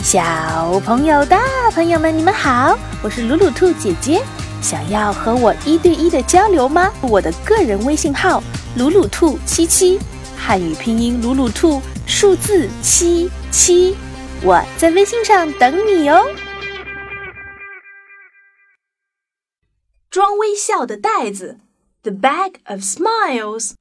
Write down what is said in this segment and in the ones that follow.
小朋友、大朋友们，你们好，我是鲁鲁兔姐姐。想要和我1对1的交流吗？我的个人微信号鲁鲁兔77，汉语拼音鲁鲁兔，数字77，我在微信上等你哦。 装微笑的袋子 The Bag of Smiles。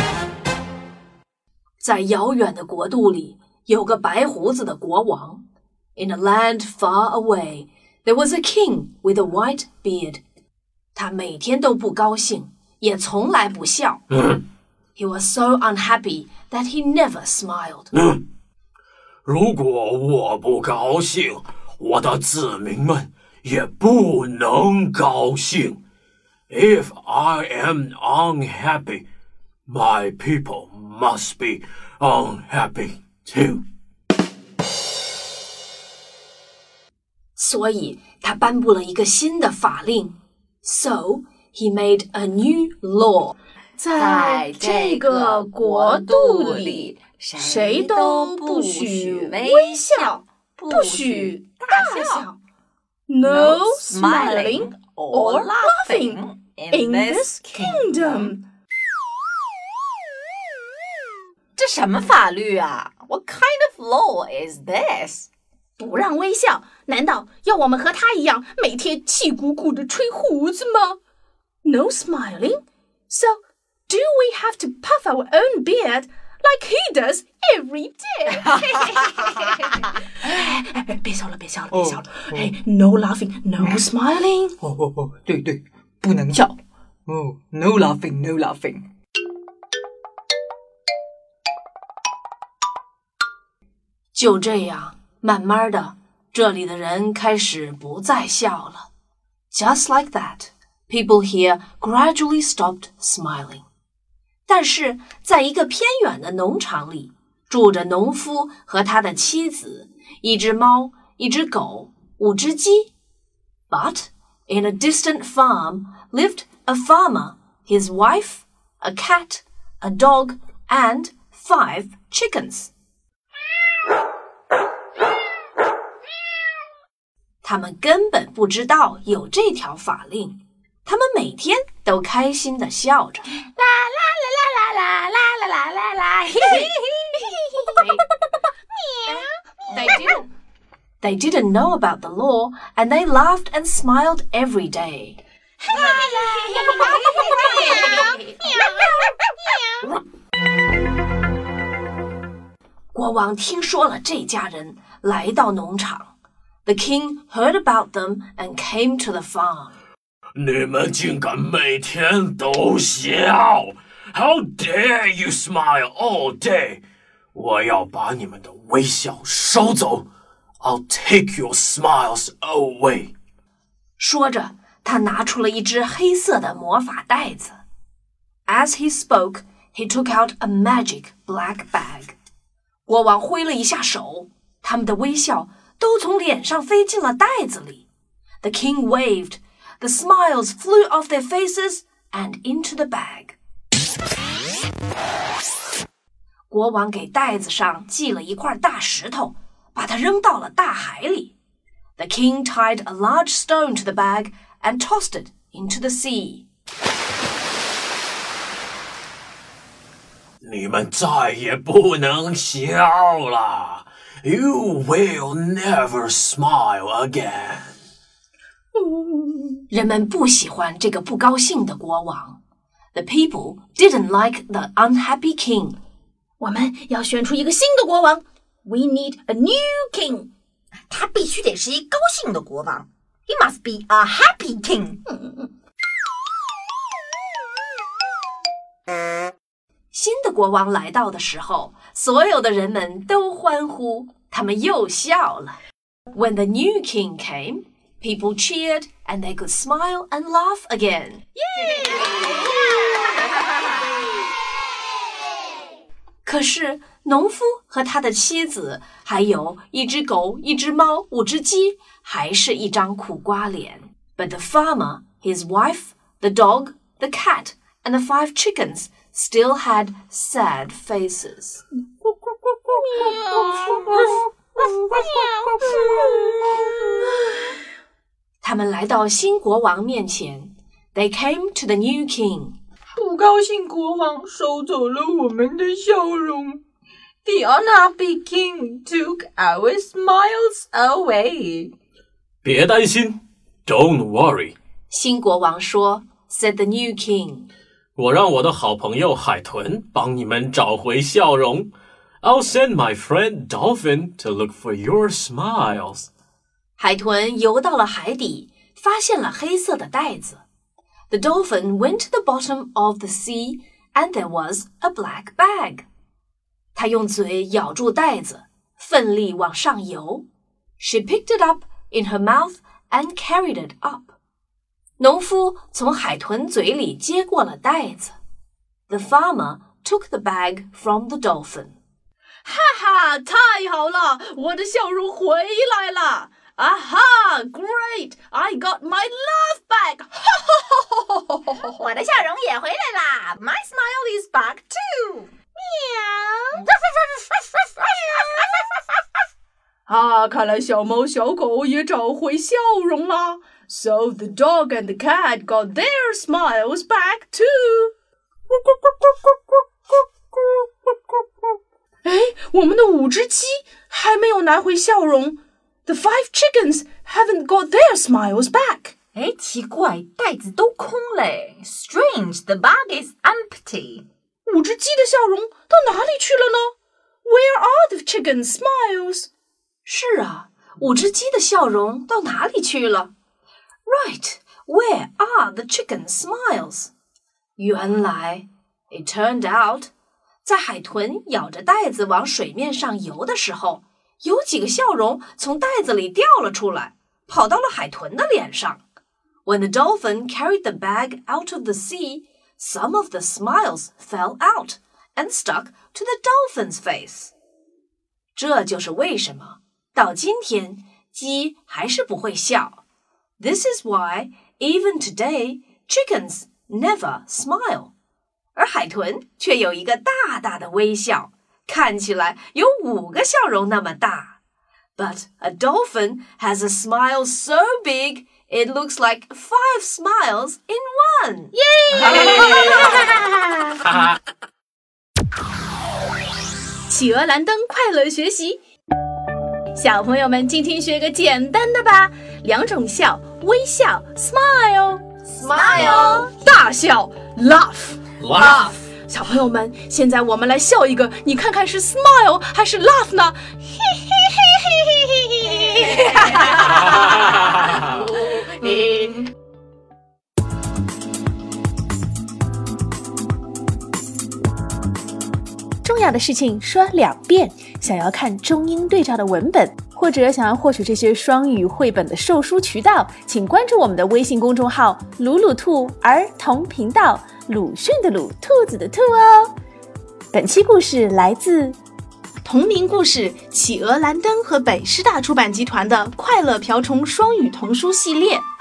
在遥远的国度里，有个白胡子的国王。 In a land far away, there was a king with a white beard. 他每天都不高兴，也从来不笑。He was so unhappy that he never smiled. 如果我不高兴，我的子民们也不能高兴。If I am unhappy, my people must be unhappy too. 所以他颁布了一个新的法令。So he made a new law. 在这个国度里，谁都不许微笑，不许大笑。No smiling or laughing in this kingdom. 这什么法律啊？ What kind of law is this? 不让微笑，难道要我们和他一样每天气鼓鼓地吹胡子吗？ No smiling? So, do we have to puff our own beard like he does every day? 别笑了，别笑了，别笑了。No laughing, no smiling. 对，不能笑。No laughing, no laughing. 就这样，慢慢的，这里的人开始不再笑了。Just like that, people here gradually stopped smiling. 但是，在一个偏远的农场里，住着农夫和他的妻子，一只猫，一只狗，5只鸡。But in a distant farm lived a farmer, his wife, a cat, a dog, and 5 chickens. 他们根本不知道有这条法令，他们每天都开心地笑着。啦啦啦啦啦啦啦啦啦！ They didn't know about the law, and they laughed and smiled every day. 国王听说了这家人，来到农场。The king heard about them and came to the farm. 你们竟敢每天都笑 ！How dare you smile all day！ 我要把你们的微笑收走 ！I'll take your smiles away。 说着，他拿出了一只黑色的魔法袋子。As he spoke, he took out a magic black bag. 国王挥了一下手，他们的微笑都从脸上飞进了袋子里。The king waved. The smiles flew off their faces and into the bag. 国王给袋子上系了一块大石头，把它扔到了大海里。The king tied a large stone to the bag and tossed it into the sea. 你们再也不能笑了。You will never smile again. 人们不喜欢这个不高兴的国王。The people didn't like the unhappy king. 我们要选出一个新的国王。We need a new king. 他必须得是一高兴的国王。He must be a happy king. 新的国王来到的时候，所有的人们都欢呼，他们又笑了。When the new king came, people cheered and they could smile and laugh again. Yay! 可是，农夫和他的妻子，还有一只狗、一只猫、5只鸡，还是一张苦瓜脸。But the farmer, his wife, the dog, the cat, and the 5 chickens still had sad faces. 他们来到新国王面前。They came to the new king. 不高兴国王收走了我们的笑容。The unhappy king took our smiles away. 别担心 ，Don't worry. 新国王说 ，said the new king. 我让我的好朋友海豚帮你们找回笑容。I'll send my friend Dolphin to look for your smiles. 海豚游到了海底，发现了黑色的袋子。The dolphin went to the bottom of the sea, and there was a black bag. 他用嘴咬住袋子，奋力往上游。She picked it up in her mouth and carried it up. 农夫从海豚嘴里接过了袋子。The farmer took the bag from the dolphin. 哈哈，太好了，我的笑容回来了。Aha! Great! I got my laugh back! 我的笑容也回来啦 My smile is back too! 啊，看来小猫小狗也找回笑容了。So the dog and the cat got their smiles back too. 哎，我们的5只鸡还没有拿回笑容。The 5 chickens haven't got their smiles back. 哎，奇怪，袋子都空嘞 Strange, the bag is empty. 5只鸡的笑容到哪里去了呢？ Where are the chickens' smiles? 是啊，5只鸡的笑容到哪里去了 ？Right, where are the chickens' smiles? 原来 it turned out, 在海豚咬着袋子往水面上游的时候，有几个笑容从袋子里掉了出来，跑到了海豚的脸上。When the dolphin carried the bag out of the sea, some of the smiles fell out and stuck to the dolphin's face. 这就是为什么到今天鸡还是不会笑。This is why, even today, chickens never smile. 而海豚却有一个大大的微笑，看起来有5个笑容那么大。But a dolphin has a smile so big, it looks like 5 smiles in one. Yay! 企鹅蓝灯快乐学习。小朋友们，今天学个简单的吧。2种笑，微笑 smile， 大笑 laugh。小朋友们，现在我们来笑一个，你看看是 smile 还是 laugh 呢？重要的事情说2遍。想要看中英对照的文本，或者想要获取这些双语绘本的售书渠道，请关注我们的微信公众号鲁鲁兔儿童频道，鲁迅的鲁，兔子的兔哦。本期故事来自同名故事企鹅蓝灯和北师大出版集团的快乐瓢虫双语童书系列。